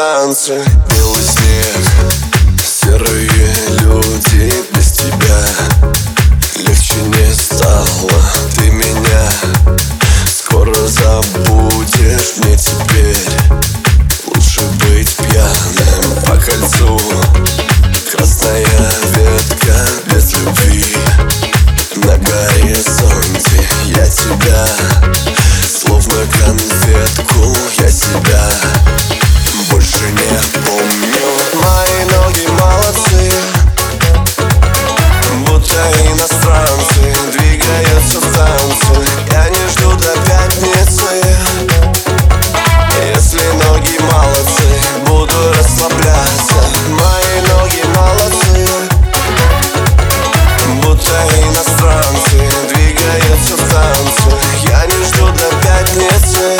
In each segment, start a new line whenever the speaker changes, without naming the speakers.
танцы. Белый снег, серые люди без тебя. Легче не стало, ты меня скоро забудешь. Мне теперь лучше быть пьяным по кольцу. Красная ветка без любви на горизонте. Я тебя, словно конфетку, я себя больше не помню. Мои ноги молодцы, будто иностранцы, двигаются в танце. Я не жду до пятницы. Если ноги молодцы, буду расслабляться. Мои ноги молодцы, будто иностранцы, двигаются в танце. Я не жду до пятницы.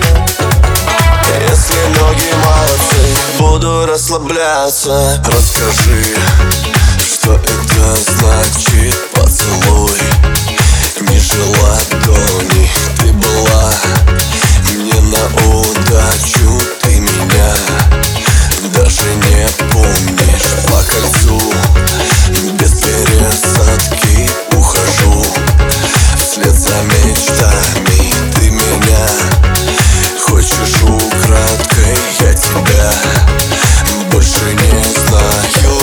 Если ноги молодцы, буду расслабляться. Расскажи, что это значит поцелуй ниже ладони. Ты была мне на удачу, ты меня даже не помнишь. По кольцу без пересадки ухожу вслед за мечтами. Ты меня хочешь украдкой, я тебя больше не знаю.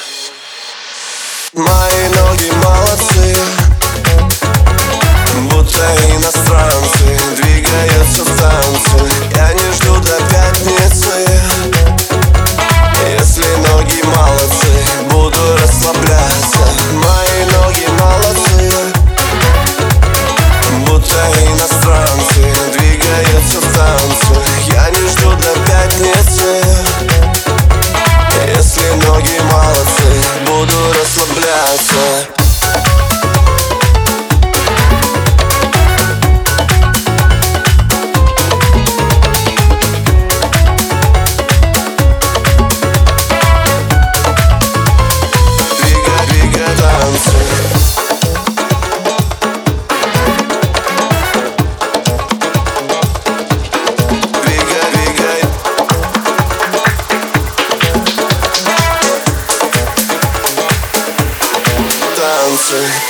Мои ноги молодцы, будто иностранцы, двигаются в танце. Я не жду до пятницы. Если ноги молодцы, буду расслабляться. Мои ноги молодцы, будто иностранцы, двигаются в танце. Я не жду до пятницы. Если ноги молодцы, буду расслабляться. Танцы.